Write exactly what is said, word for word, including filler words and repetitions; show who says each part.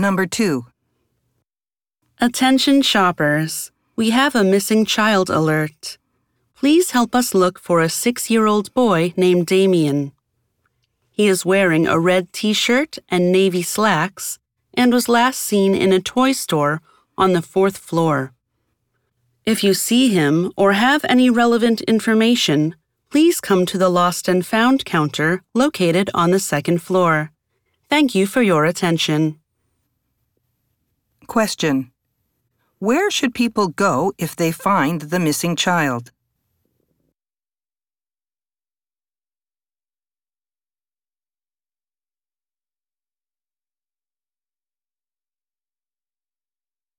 Speaker 1: Number two.
Speaker 2: Attention shoppers. We have a missing child alert. Please help us look for a six-year-old boy named Damien. He is wearing a red t-shirt and navy slacks and was last seen in a toy store on the fourth floor. If you see him or have any relevant information, please come to the Lost and Found counter located on the second floor. Thank you for your attention.
Speaker 1: Question. Where should people go if they find the missing child?